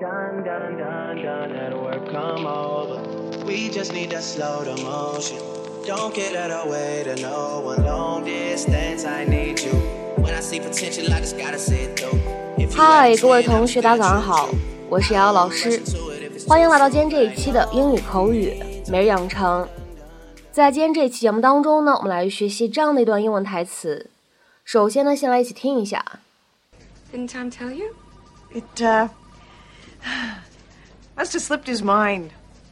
done, done, done, done at work, come over. We just need to slow the motion. Don't get out of way to no one. Long distance, I need you. When I see potential, I just gotta see it through. 嗨，各位同学，大家早上好，我是瑶瑶老师，欢迎来到今天这一期的英语口语每日养成。在今天这一期节目当中呢，我们来学习这样的一段英文台词。首先呢，先来一起听一下。 Didn't Tom tell you? It, must have slipped his mind.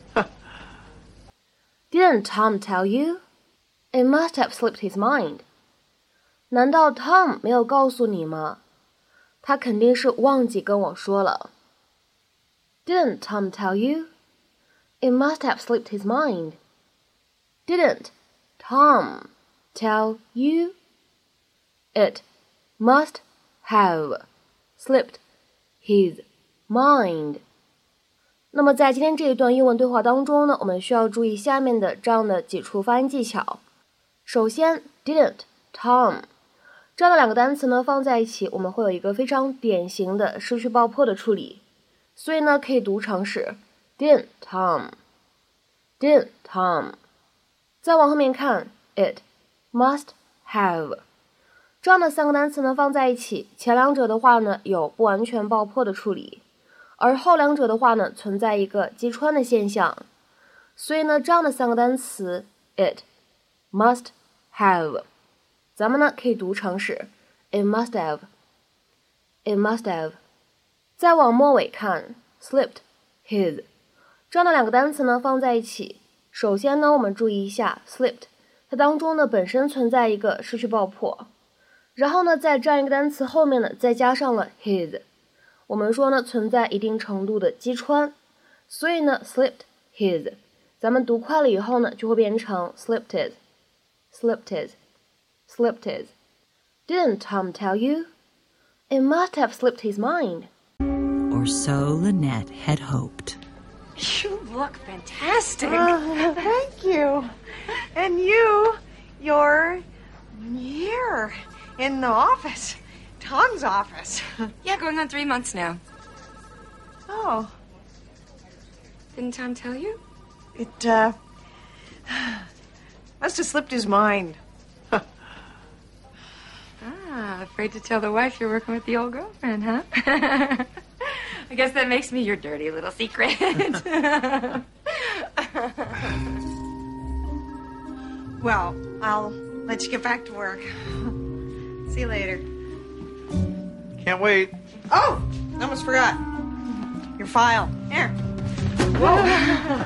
Didn't Tom tell you? It must have slipped his mind. 难道 Tom 没有告诉你吗？他肯定是忘记跟我说了。Didn't Tom tell you? It must have slipped his mind. Didn't Tom tell you? It must have slipped his mind. 那么在今天这一段英文对话当中呢，我们需要注意下面的这样的几处发音技巧。首先 didn't Tom 这样的两个单词呢放在一起，我们会有一个非常典型的失去爆破的处理，所以呢可以读成是 didn't Tom didn't Tom。 再往后面看 it must have 这样的三个单词呢放在一起，前两者的话呢有不完全爆破的处理，而后两者的话呢存在一个击穿的现象，所以呢这样的三个单词 it must have 咱们呢可以读成是 it must have it must have。 再往末尾看 slipped his 这样的两个单词呢放在一起，首先呢我们注意一下 slipped 它当中呢本身存在一个失去爆破，然后呢在这样一个单词后面呢再加上了 his， 我们说呢存在一定程度的击穿，所以呢 slipped his 咱们读快了以后呢就会变成 slipped his slipped his slipped his。 Didn't Tom tell you? It must have slipped his mind. Or so Lynette had hoped. You look fantastic. Thank you. And you're here in the office, Tom's office. Yeah, going on 3 months now. Oh, Didn't Tom tell you? it, must have slipped his mind. Afraid to tell the wife you're working with the old girlfriend, huh? I guess that makes me your dirty little secret. Well, I'll let you get back to work. See you later. Can't wait. Oh, almost forgot. Your file. Here. Whoa.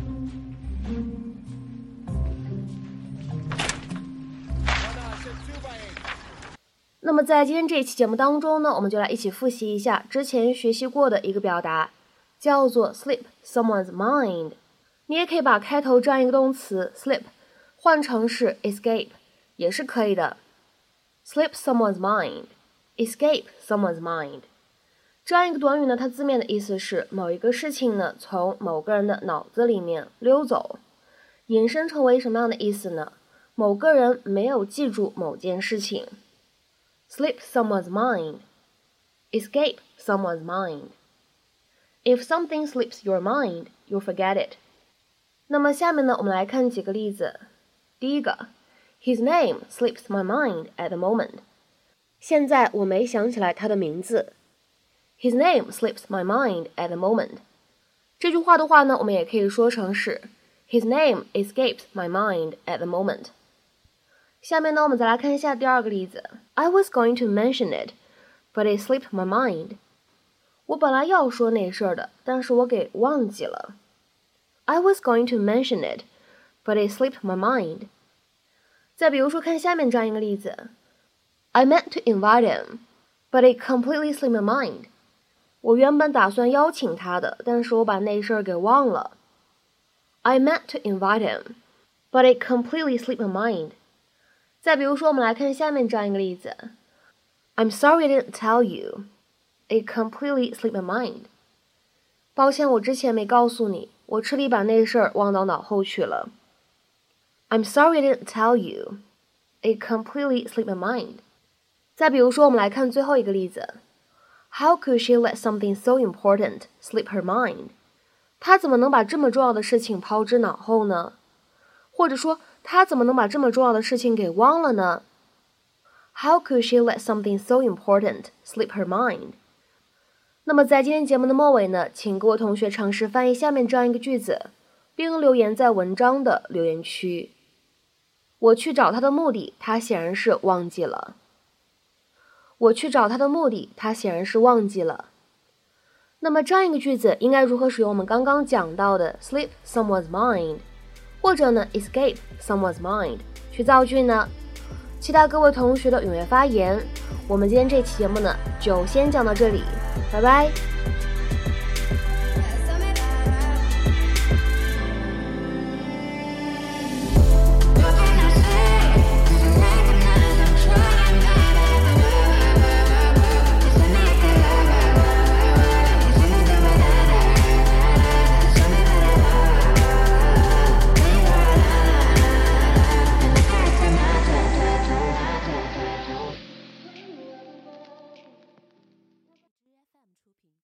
那么在今天这一期节目当中呢，我们就来一起复习一下之前学习过的一个表达，叫做 slip someone's mind。 你也可以把开头这样一个动词 slip 换成是 escape 也是可以的。 slip someone's mind escape someone's mind 这样一个短语呢，它字面的意思是某一个事情呢从某个人的脑子里面溜走，引申成为什么样的意思呢？某个人没有记住某件事情。Slip someone's mind. Escape someone's mind. If something slips your mind, you'll forget it. 那么下面呢，我们来看几个例子。第一个 His name slips my mind at the moment. 现在我没想起来他的名字。His name slips my mind at the moment. 这句话的话呢，我们也可以说成是 His name escapes my mind at the moment. 下面呢，我们再来看一下第二个例子。I was going to mention it, but it slipped my mind. 我本来要说那事儿的，但是我给忘记了。I was going to mention it, but it slipped my mind. 再比如说，看下面这样一个例子。I meant to invite him, but it completely slipped my mind. 我原本打算邀请他的，但是我把那事儿给忘了。I meant to invite him, but it completely slipped my mind. 再比如说，我们来看下面这样一个例子。I'm sorry I didn't tell you. It completely slipped my mind. 抱歉，我之前没告诉你，我彻底把那事儿忘到脑后去了。I'm sorry I didn't tell you. It completely slipped my mind. 再比如说，我们来看最后一个例子。 How could she let something so important slip her mind? 她怎么能把这么重要的事情抛之脑后呢？或者说，她怎么能把这么重要的事情给忘了呢？ How could she let something so important slip her mind? 那么在今天节目的末尾呢，请各位同学尝试翻译下面这样一个句子，并留言在文章的留言区。我去找他的目的，他显然是忘记了。我去找他的目的，他显然是忘记了。那么这样一个句子应该如何使用我们刚刚讲到的 slip someone's mind 或者呢 escape someone's mind 去造句呢？期待各位同学的踊跃发言。我们今天这期节目呢就先讲到这里，拜拜。